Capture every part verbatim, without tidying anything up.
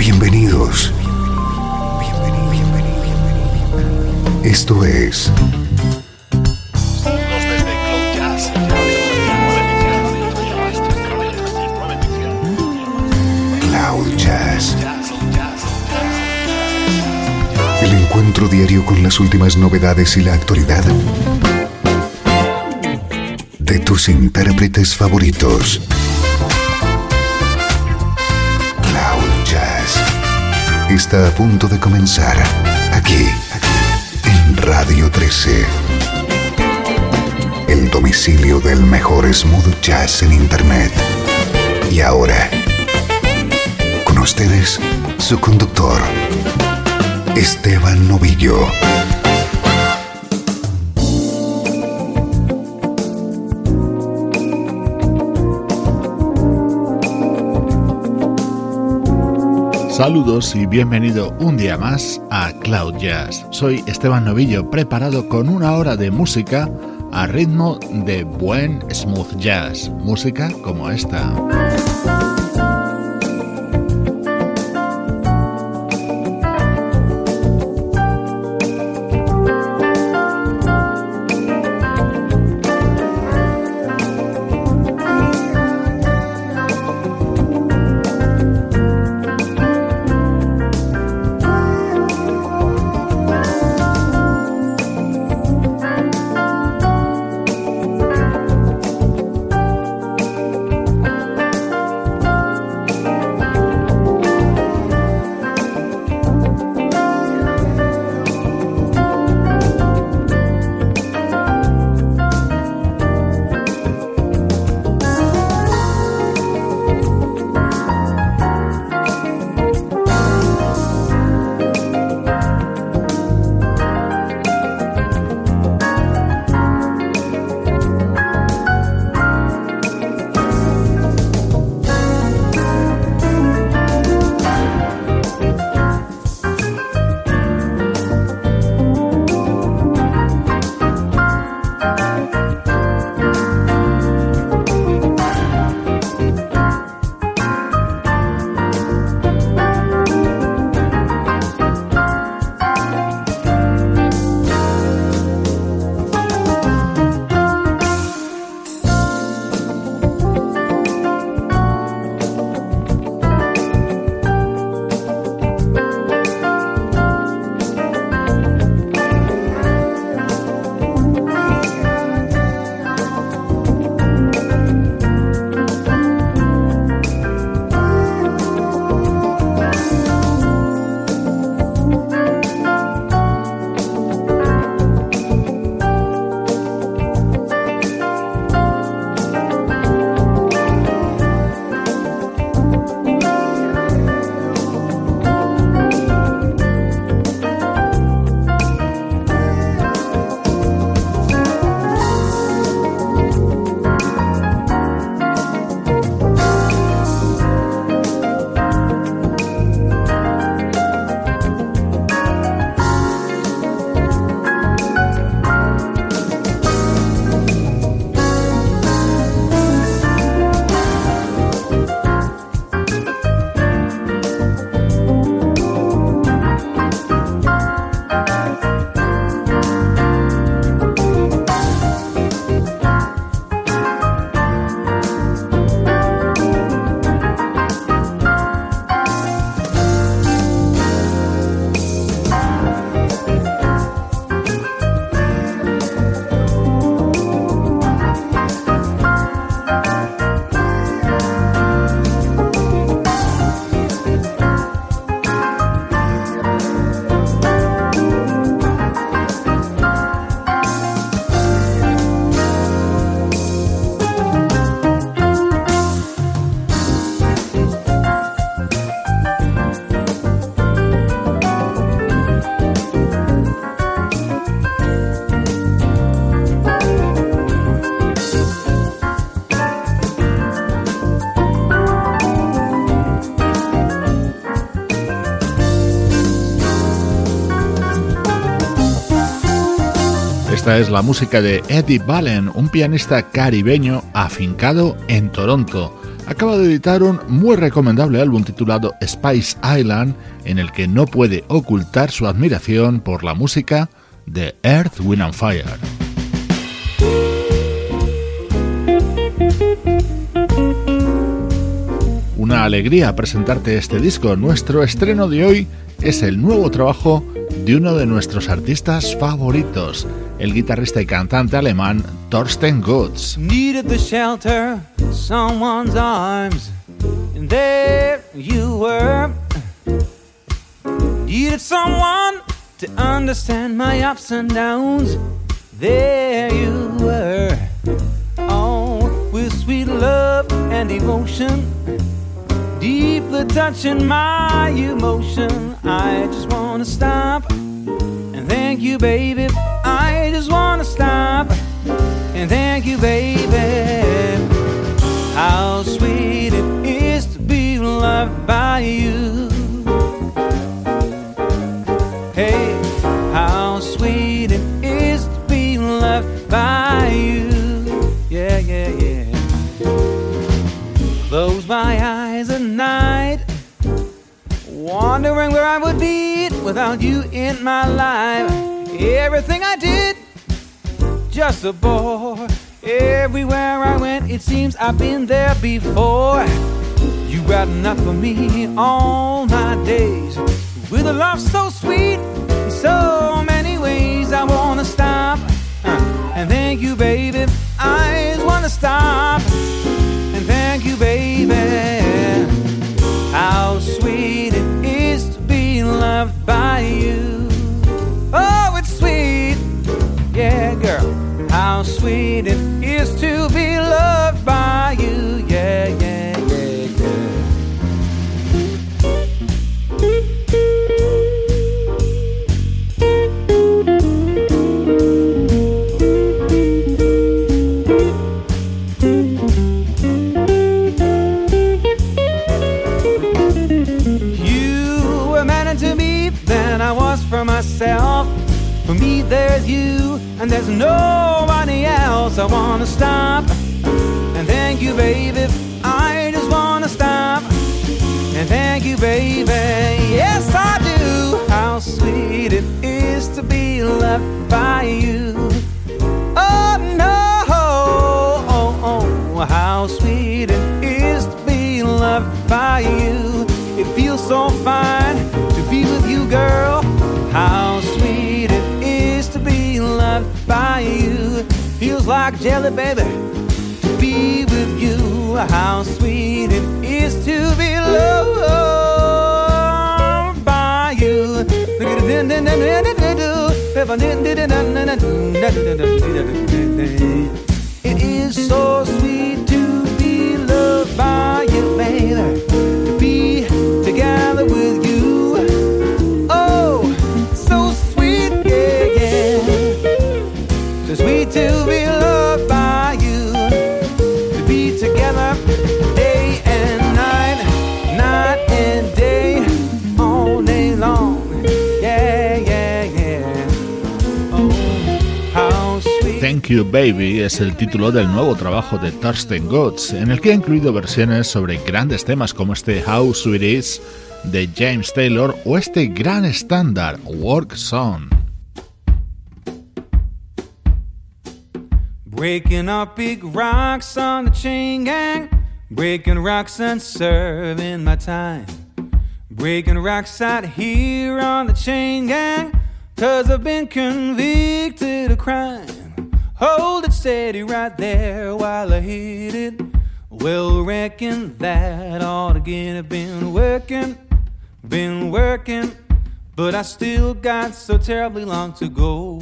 Bienvenidos. Esto es Cloud Jazz. El encuentro diario con las últimas novedades y la actualidad de tus intérpretes favoritos. Cloud Jazz está a punto de comenzar aquí, en Radio trece. El domicilio del mejor smooth jazz en internet. Y ahora, con ustedes, su conductor, Esteban Novillo. Saludos y bienvenido un día más a Cloud Jazz. Soy Esteban Novillo, preparado con una hora de música a ritmo de buen smooth jazz, música como esta. Esta es la música de Eddie Ballen, un pianista caribeño afincado en Toronto. acaba de editar un muy recomendable álbum titulado Spice Island, en el que no puede ocultar su admiración por la música de Earth, Wind and Fire. Una alegría presentarte este disco. Nuestro estreno de hoy es el nuevo trabajo de uno de nuestros artistas favoritos, el guitarrista y cantante alemán Thorsten Götz. Needed the shelter, someone's arms, and there you were. Needed someone to understand my ups and downs. There you were. Oh, with sweet love and devotion, deeply touching my emotion. I just wanna stop and thank you, baby. I just wanna stop and thank you, baby. How sweet it is to be loved by you. Hey, how sweet it is to be loved by you. Yeah, yeah, yeah. Close my eyes at night, wondering where I would be without you in my life. Everything I did, just a bore. Everywhere I went, it seems I've been there before. You got enough for me all my days, with a love so sweet in so many ways. I wanna stop uh, and thank you, baby. I just wanna stop and thank you, baby. How sweet it is to be loved by you. Oh, it's sweet, yeah, girl. How sweet it is to be loved by you. Yeah, yeah, yeah, yeah. You were meant to be than I was for myself. For me there's you and there's nobody else. I wanna stop and thank you, baby. I just wanna stop and thank you, baby. Yes, I do. How sweet it is to be loved by you. Oh no, oh, oh, how sweet it is to be loved by you. It feels so fine to be with you, girl. How sweet it is to be loved by you. Feels like jelly, baby, to be with you. How sweet it is to be loved by you. It is so sweet to be loved by you, baby, to be together with you. Sweet to be loved by you, to be together day and night, night and day, all day long. Yeah, yeah, yeah. Oh, how sweet. Thank You Baby es el título del nuevo trabajo de Thorsten Götz, en el que ha incluido versiones sobre grandes temas como este How Sweet It Is de James Taylor o este gran estándar Work Song. Breaking up big rocks on the chain gang, breaking rocks and serving my time. Breaking rocks out here on the chain gang, 'cause I've been convicted of crime. Hold it steady right there while I hit it. Well, reckon that ought to get it. Been working, been working, but I still got so terribly long to go.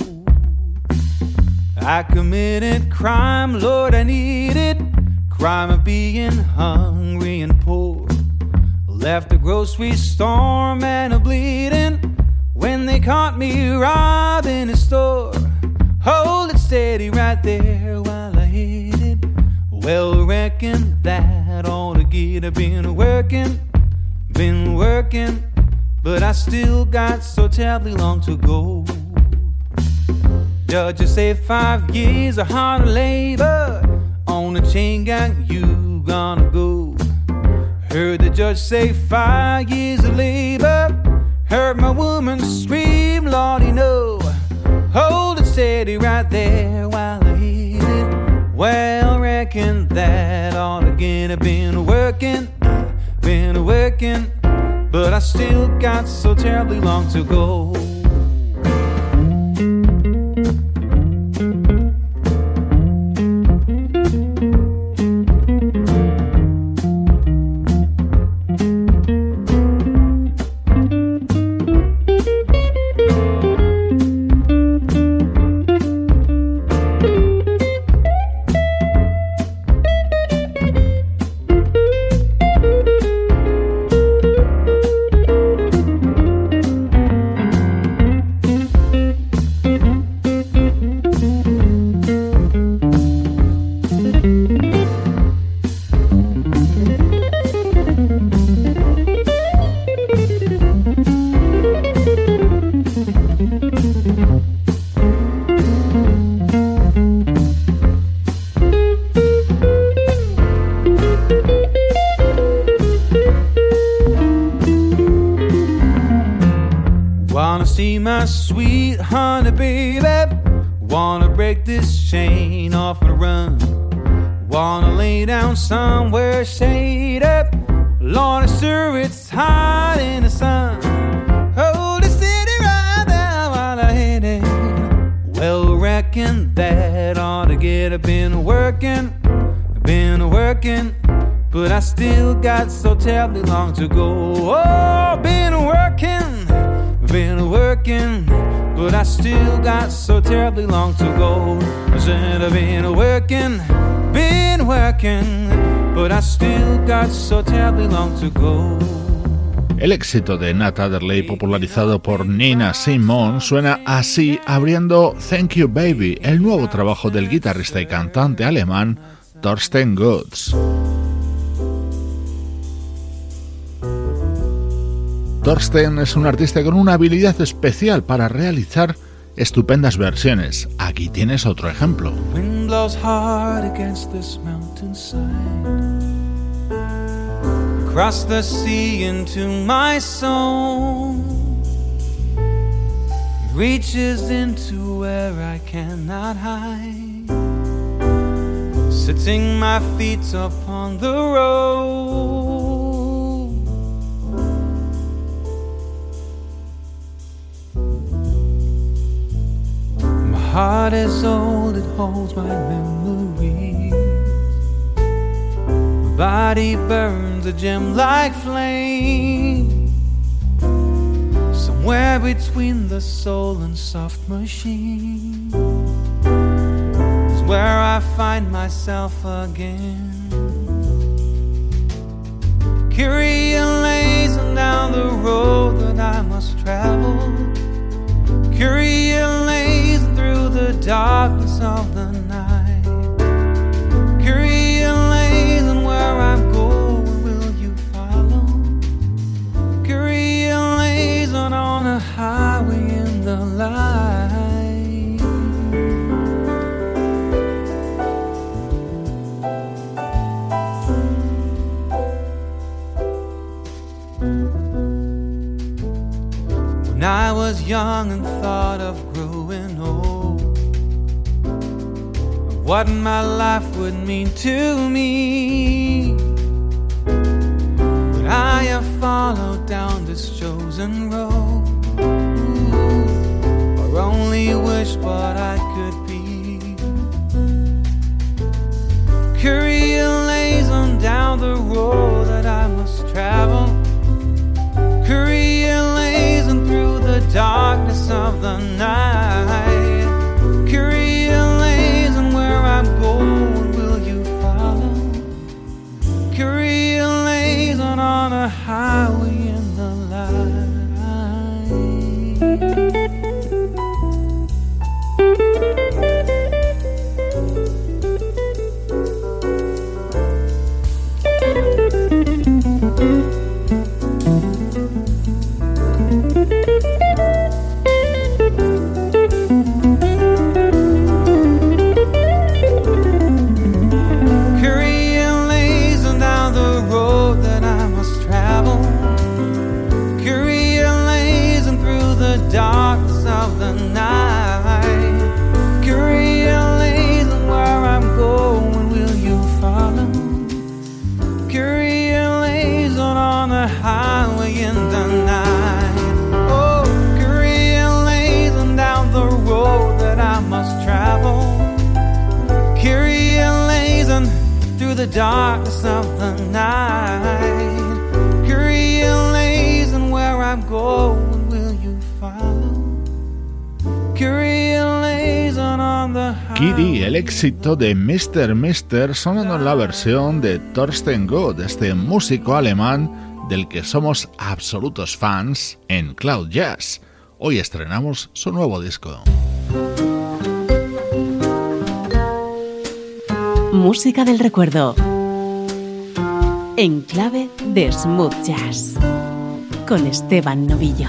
I committed crime, Lord, I need it. Crime of being hungry and poor. Left the grocery store, man, a bleeding when they caught me robbing a store. Hold it steady right there while I hit it. Well, reckon that ought to get it. Been working, been working, but I still got so terribly long to go. Judges say five years of hard labor on the chain gang you gonna go. Heard the judge say five years of labor. Heard my woman scream, Lordy, no. Hold it steady right there while I hit it. Well, reckon that ought to get it. Been working, been working, but I still got so terribly long to go. My sweet honey baby, wanna break this chain off and run. Wanna lay down somewhere shaded. Lord, sure it's hot in the sun. Hold the city right there while I hit it. Well, reckon that ought to get it. Been working, been working, but I still got so terribly long to go. Oh, been working, been working, but I still got so terribly long to go. I said I've been working, been working, but I still got so terribly long to go. El éxito de Nat Adderley, popularizado por Nina Simone, suena así abriendo Thank You Baby, el nuevo trabajo del guitarrista y cantante alemán Thorsten Götz. Thorsten es un artista con una habilidad especial para realizar estupendas versiones. Aquí tienes otro ejemplo. Wind blows hard against this mountainside, across the sea into my soul, reaches into where I cannot hide, setting my feet upon the road. Heart is old, it holds my memories. My body burns a gem like flame. Somewhere between the soul and soft machine is where I find myself again. Kyrie lays down the road that I must travel. Kyrie lays through the darkness of the night. Kyrie lays and where I'm going, will you follow? Kyrie lays on, on a highway in the light. When I was young and thought of growing old, what my life would mean to me, but I have followed down this chosen road. Ooh, or only wish what I could be. Kyrie lays on down the road that I must travel. Kyrie lays on through the darkness of the night. Kyrie lays on where I'm going, will you follow? Kyrie lays on, on a highway in the light. Kyrie lays on down the road that I the highway in the night. Oh, carrying laden down the road that I must travel. Carrying laden through the darkness of the night. Carrying laden where I'm going, will you follow? Carrying laden on the highway. Kitty, el éxito de mister mister sonando en la versión de Thorsten Gott, este músico alemán del que somos absolutos fans en Cloud Jazz. Hoy estrenamos su nuevo disco. Música del recuerdo en clave de smooth jazz con Esteban Novillo.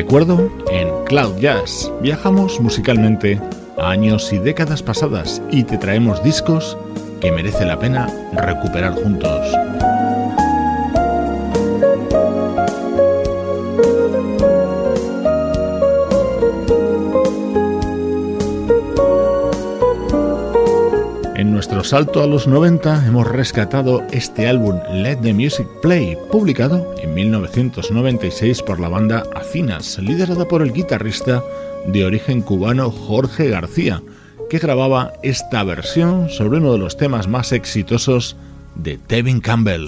recuerdo en Cloud Jazz. Viajamos musicalmente a años y décadas pasadas y te traemos discos que merece la pena recuperar juntos. En nuestro salto a los noventa hemos rescatado este álbum Let the Music Play, publicado en mil novecientos noventa y seis por la banda Afinas, liderada por el guitarrista de origen cubano Jorge García, que grababa esta versión sobre uno de los temas más exitosos de Tevin Campbell.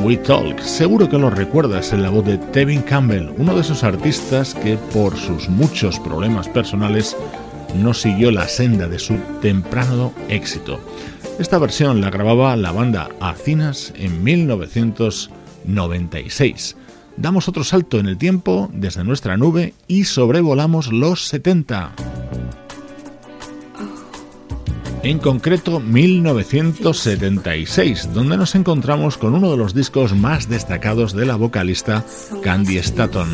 We Talk. Seguro que lo recuerdas en la voz de Tevin Campbell, uno de esos artistas que por sus muchos problemas personales no siguió la senda de su temprano éxito. Esta versión la grababa la banda Acinas en mil novecientos noventa y seis. Damos otro salto en el tiempo desde nuestra nube y sobrevolamos los setenta. En concreto mil novecientos setenta y seis, donde nos encontramos con uno de los discos más destacados de la vocalista Candi Staton.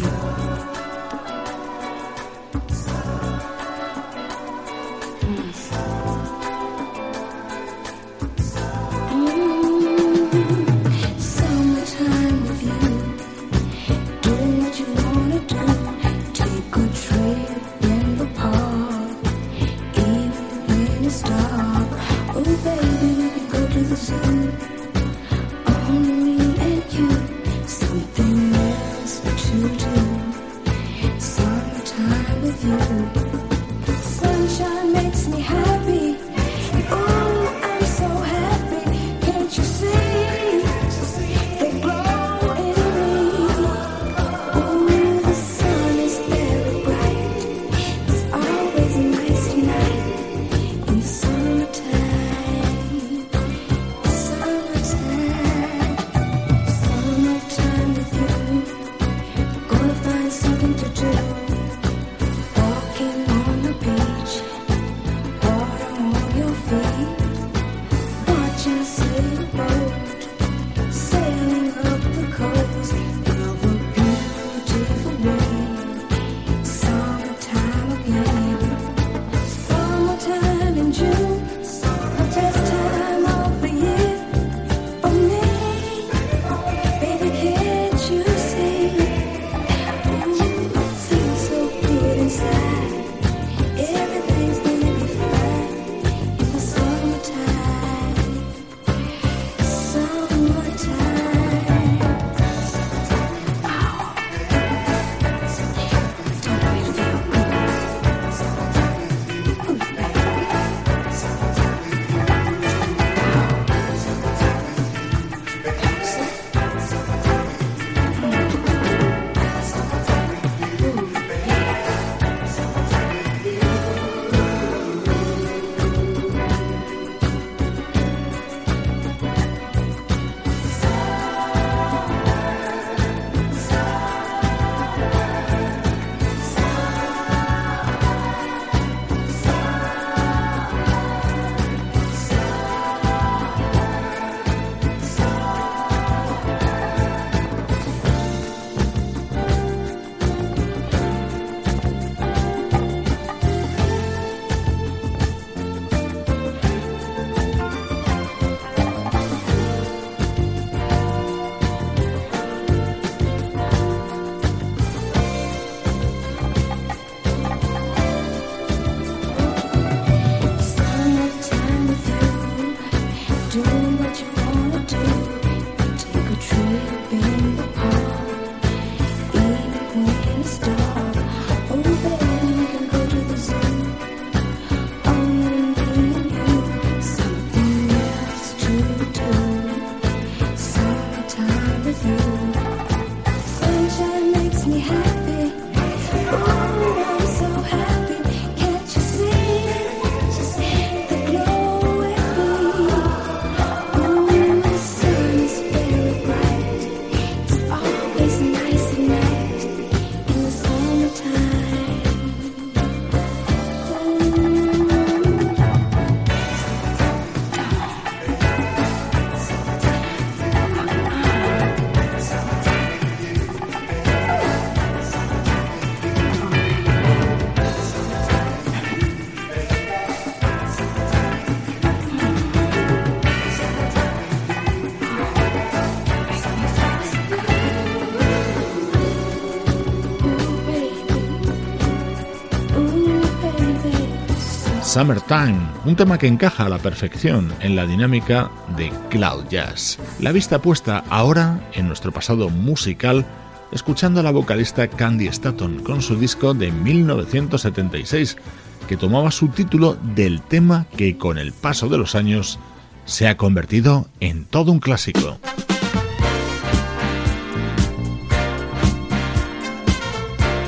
Summertime, un tema que encaja a la perfección en la dinámica de Cloud Jazz. La vista puesta ahora en nuestro pasado musical, escuchando a la vocalista Candi Staton con su disco de mil novecientos setenta y seis, que tomaba su título del tema que con el paso de los años se ha convertido en todo un clásico.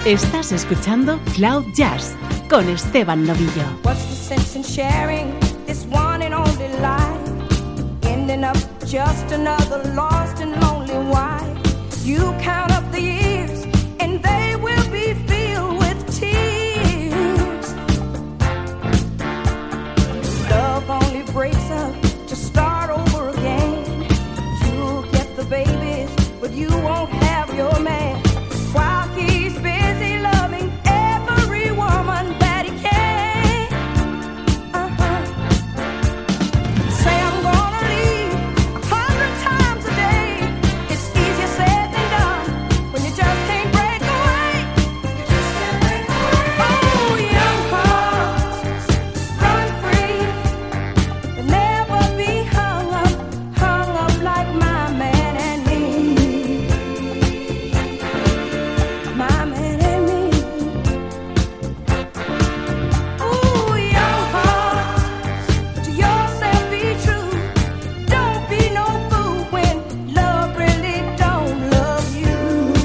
Estás escuchando Cloud Jazz con Esteban Novillo. What's the sense in sharing this one and only life? Ending up just another lost and lonely wife. You count up the years and they will be filled with tears. Love only breaks up to start over again. You'll get the babies, but you won't have your man. While he's busy loving every woman that he can. Uh-huh. Say I'm gonna leave a hundred times a day. It's easier said than done when you just can't break away. Oh, young hearts, run free. You'll never be hung up, hung up like my man and me. My man and me. Ooh, young heart, to yourself be true. Don't be no fool when love really don't love you.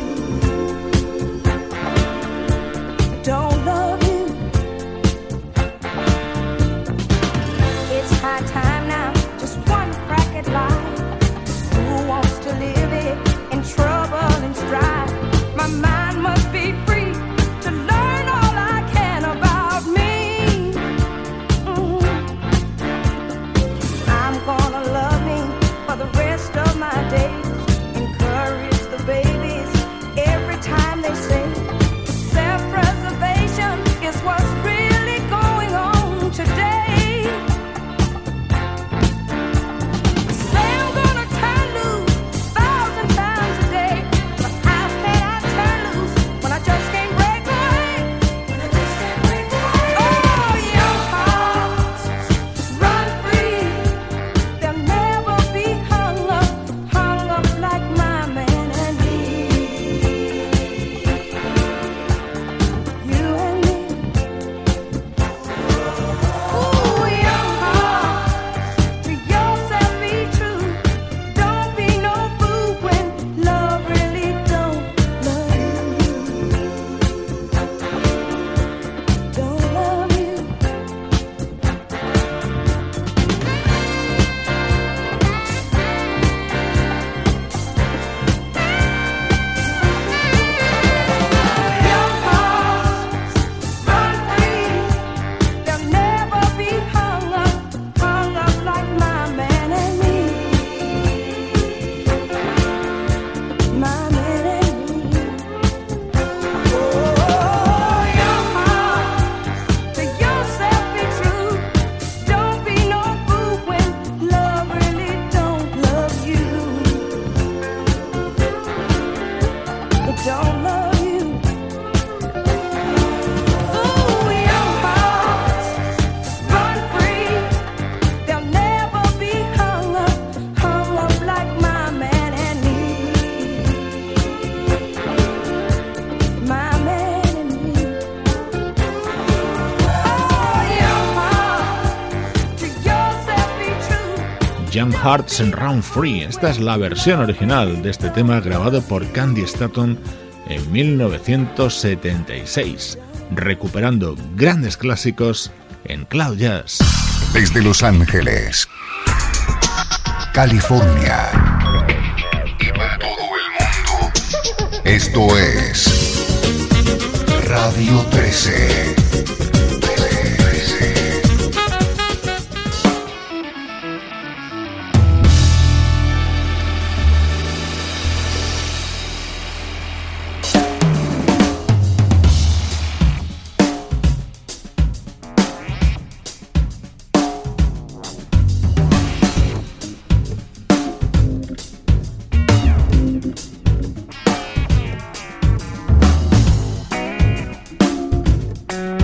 Don't love you. It's high time now, just one crack at life. Who wants to live it in trouble and strife? My mind must be free to learn all I can about me. Mhm. I'm gonna love me for the rest of my days. Encourage the babies every time they say self-preservation is what's really going on today. Say I'm gonna turn loose thousand times a day, but how can I turn loose when I just can't break away? Oh, young hearts, run free. They'll never be hung up, hung up like my man and me. You and me. Ooh, young heart, to yourself be true. Don't be no fool when love really don't love you. Don't love you. Young hearts, run free. They'll never be hung up, hung up like my man and me. My man and me. Oh, young heart, to yourself be true. Don't be no fool when love really don't love you. It don't love you. Ooh, young hearts, run free. They'll never be hung up, hung up like my man and me. My man and me. Oh, young heart, to yourself be true. Young Hearts and Run Free. Esta es la versión original de este tema grabado por Candy Staton en mil novecientos setenta y seis, recuperando grandes clásicos en Cloud Jazz. Desde Los Ángeles, California y para todo el mundo, esto es Radio trece. Thank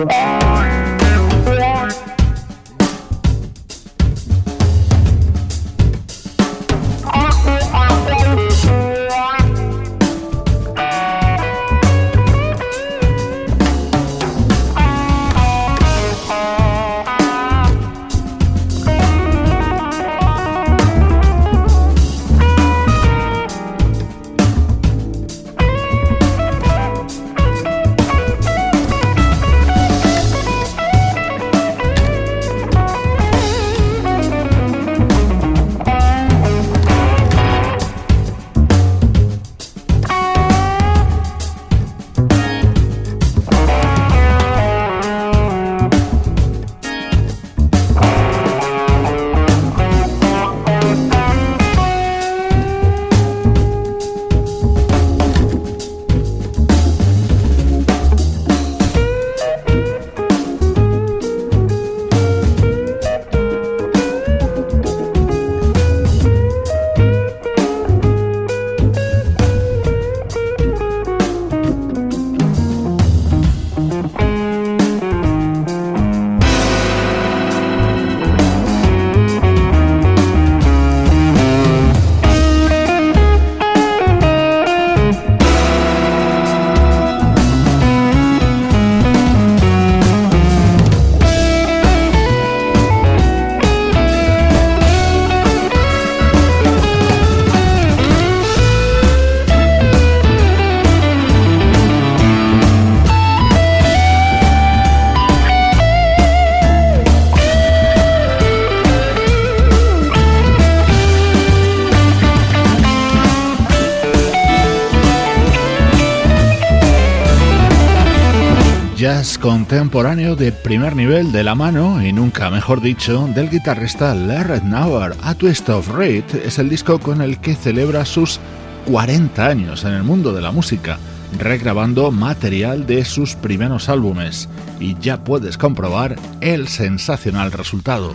jazz contemporáneo de primer nivel de la mano, y nunca mejor dicho, del guitarrista Larry Nauer. A Twist of Reed es el disco con el que celebra sus cuarenta años en el mundo de la música, regrabando material de sus primeros álbumes, y ya puedes comprobar el sensacional resultado.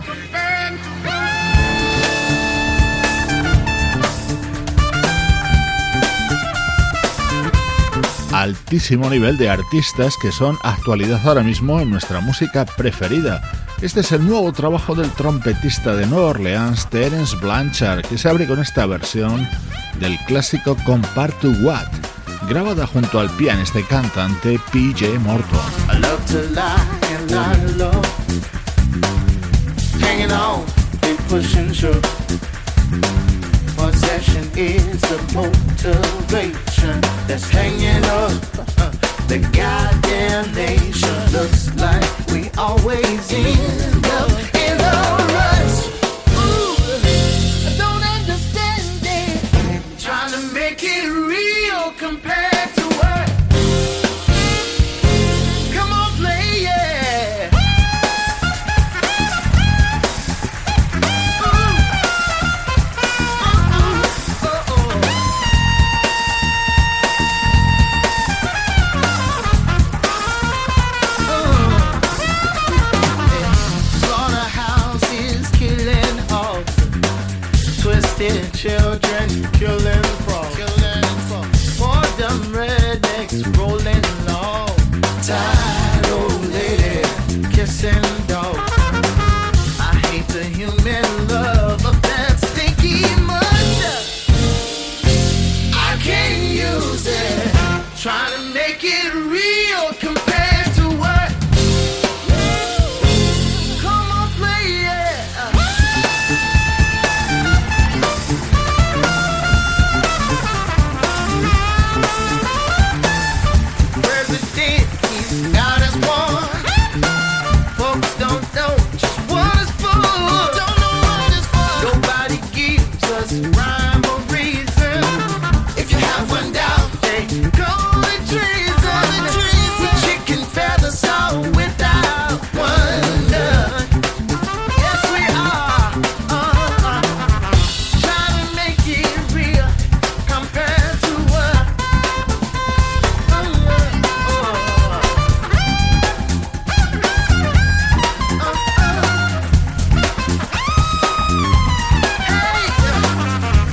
Altísimo nivel de artistas que son actualidad ahora mismo en nuestra música preferida. Este es el nuevo trabajo del trompetista de Nueva Orleans, Terence Blanchard, que se abre con esta versión del clásico Compared to What, grabada junto al pianista y cantante P J Morton. I love to lie and lie low, hanging on and pushing through. Possession is the motivation that's hanging up the goddamn nation. Looks like we always end up in a rush. Ooh, I don't understand it. Trying to make it real compared to what? Come on, play, yeah. Children killing frogs, killing frogs. For them rednecks rolling along, tired old lady kissing dog. I hate the human love of that stinky mud. I can't use it. Trying to make it real compared to what? Come on, play it. Rhyme or reason. If you have one down, hey, call it treason. Chicken feathers all without wonder. Yes, we are. Uh-huh. Trying to make it real compared to what? Uh-uh. Uh-uh. Hey.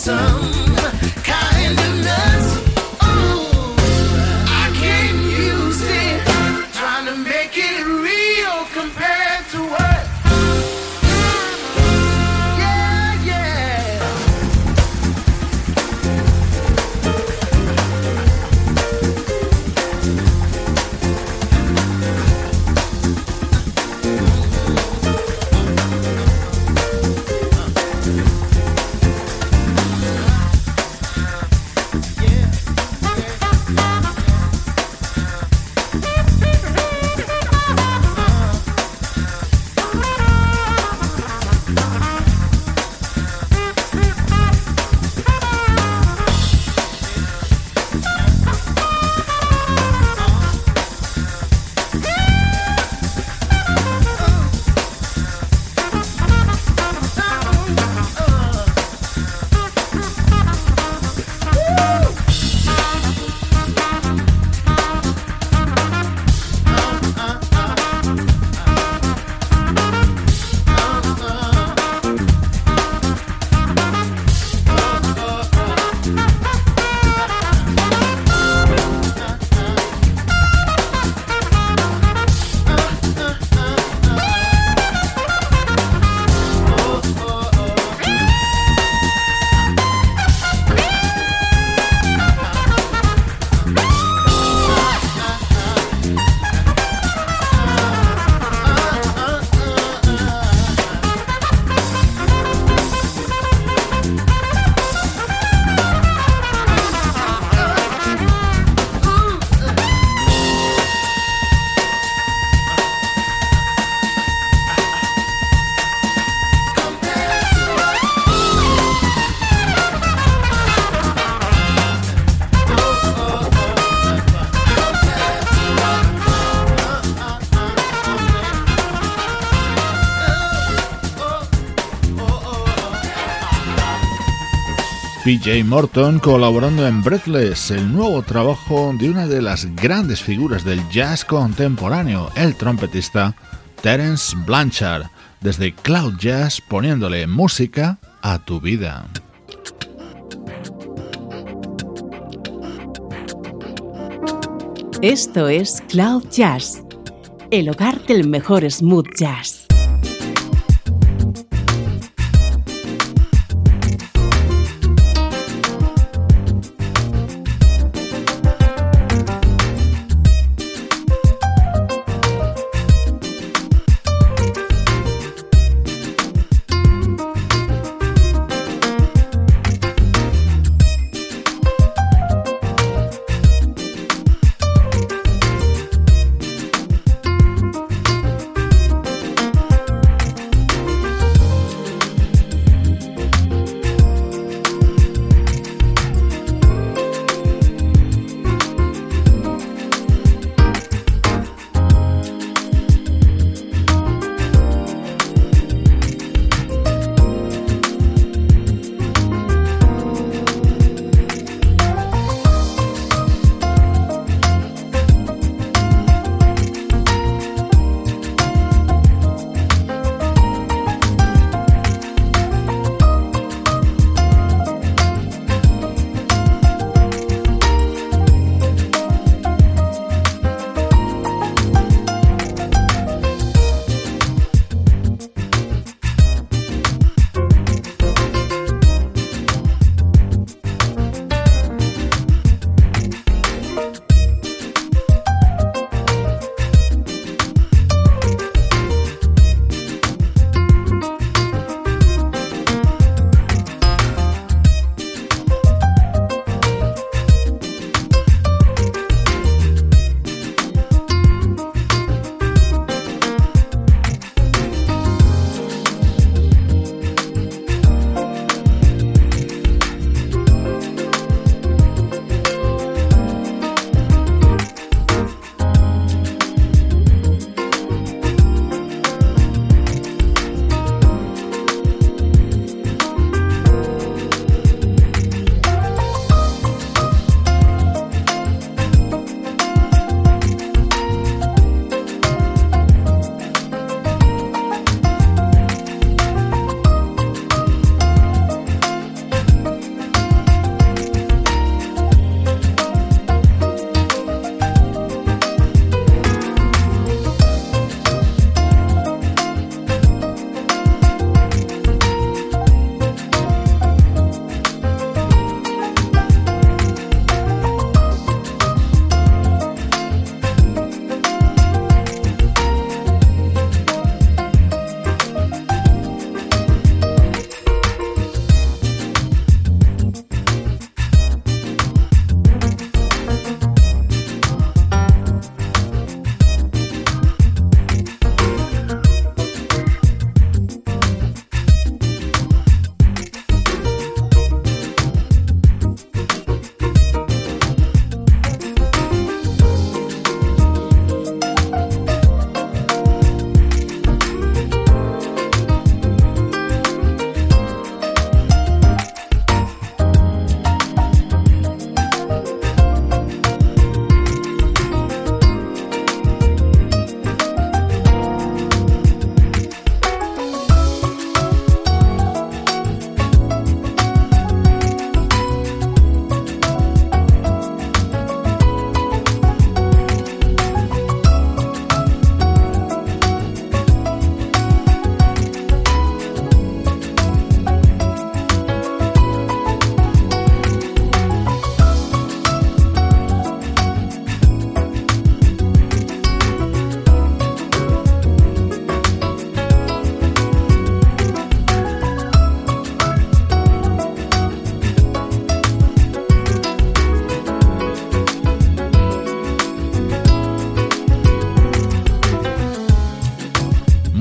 P J Morton colaborando en Breathless, el nuevo trabajo de una de las grandes figuras del jazz contemporáneo, el trompetista Terence Blanchard, desde Cloud Jazz poniéndole música a tu vida. Esto es Cloud Jazz, el hogar del mejor smooth jazz.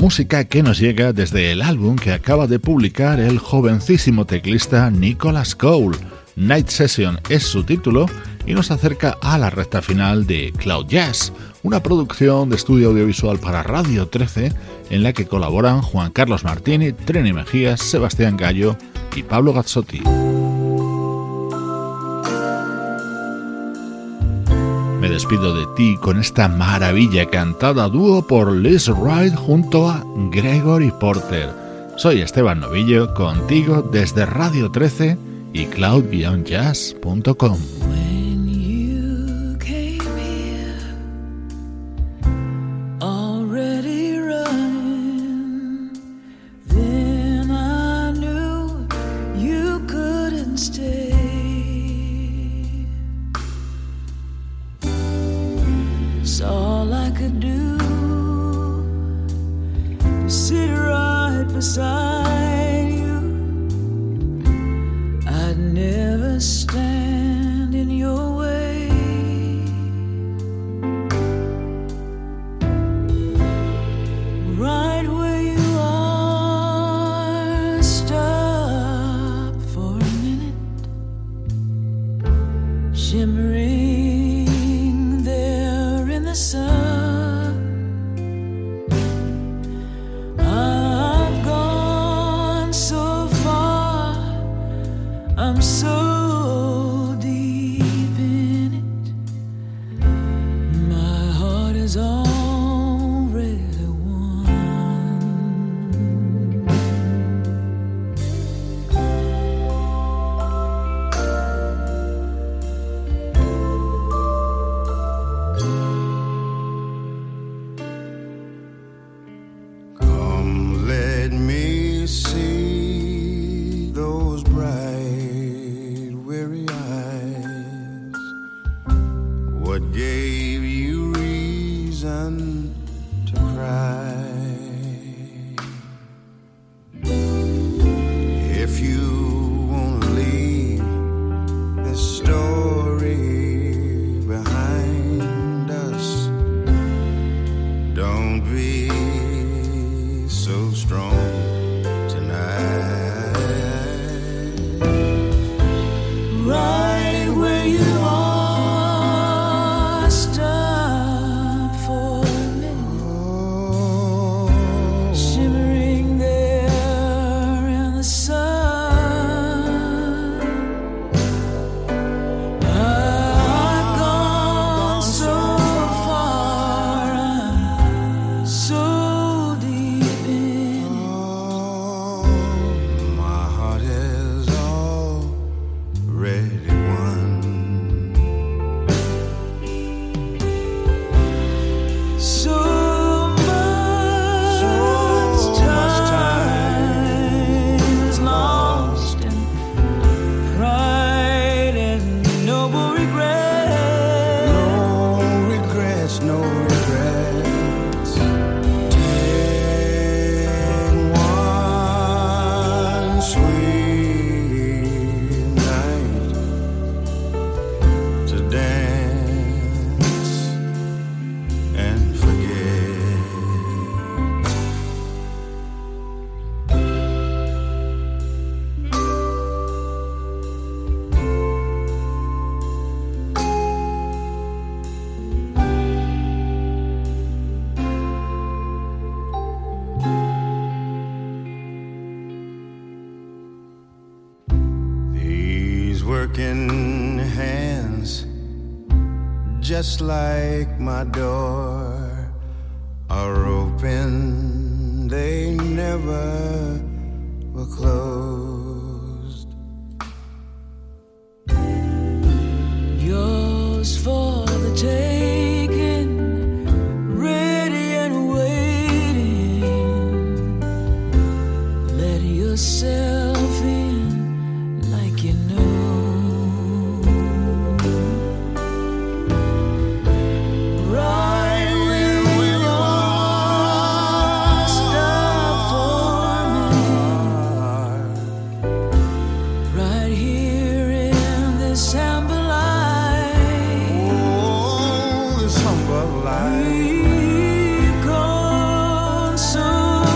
música que nos llega desde el álbum que acaba de publicar el jovencísimo teclista Nicholas Cole. Night Session es su título y nos acerca a la recta final de Cloud Jazz, una producción de estudio audiovisual para Radio trece en la que colaboran Juan Carlos Martini, Trini Mejías, Sebastián Gallo y Pablo Gazzotti. Me despido de ti con esta maravilla cantada a dúo por Liz Wright junto a Gregory Porter. Soy Esteban Novillo, contigo desde Radio trece y cloud jazz punto com. Beside you, I'd never stand in your way. Right where you are, stop for a minute, shimmering there in the sun. I'm so deep in it, my heart is already won. Come, let me see those bright what gave you reason to cry? If you won't leave this story behind us, don't be so strong tonight. Right where you are, stop for a minute, shimmering there in the sun. I've gone so far, I'm so deep in it. My heart is already won. So much, so much time is lost in pride and noble regret. No regrets, no regrets. Take one sweet night to dance and forget. These working hands, just like my door, are open, they never were closed. Yours for the taking, ready and waiting. Let yourself in like you know. Right where you are, stop for a minute. Right here in this amber light. Oh, this humble light. We've gone so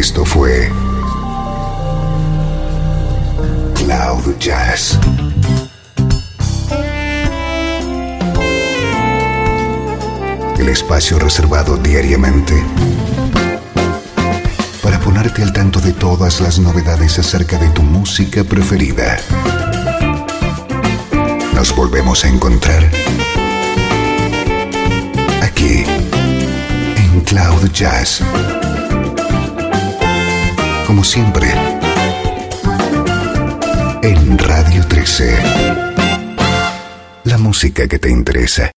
Esto fue Cloud Jazz. El espacio reservado diariamente para ponerte al tanto de todas las novedades acerca de tu música preferida. Nos volvemos a encontrar aquí en Cloud Jazz. Como siempre, en Radio trece. La música que te interesa.